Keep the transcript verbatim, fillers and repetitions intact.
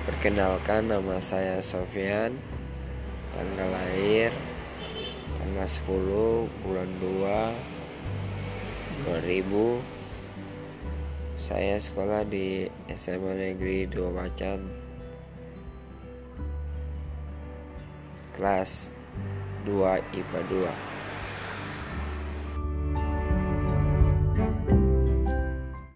Perkenalkan, nama saya Sofyan. Tanggal lahir tanggal sepuluh bulan dua dua ribu. Saya sekolah di S M A Negeri dua Macan, kelas dua I P A dua.